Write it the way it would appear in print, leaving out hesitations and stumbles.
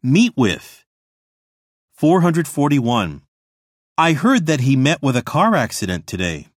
Meet with. 441. I heard that he met with a car accident today.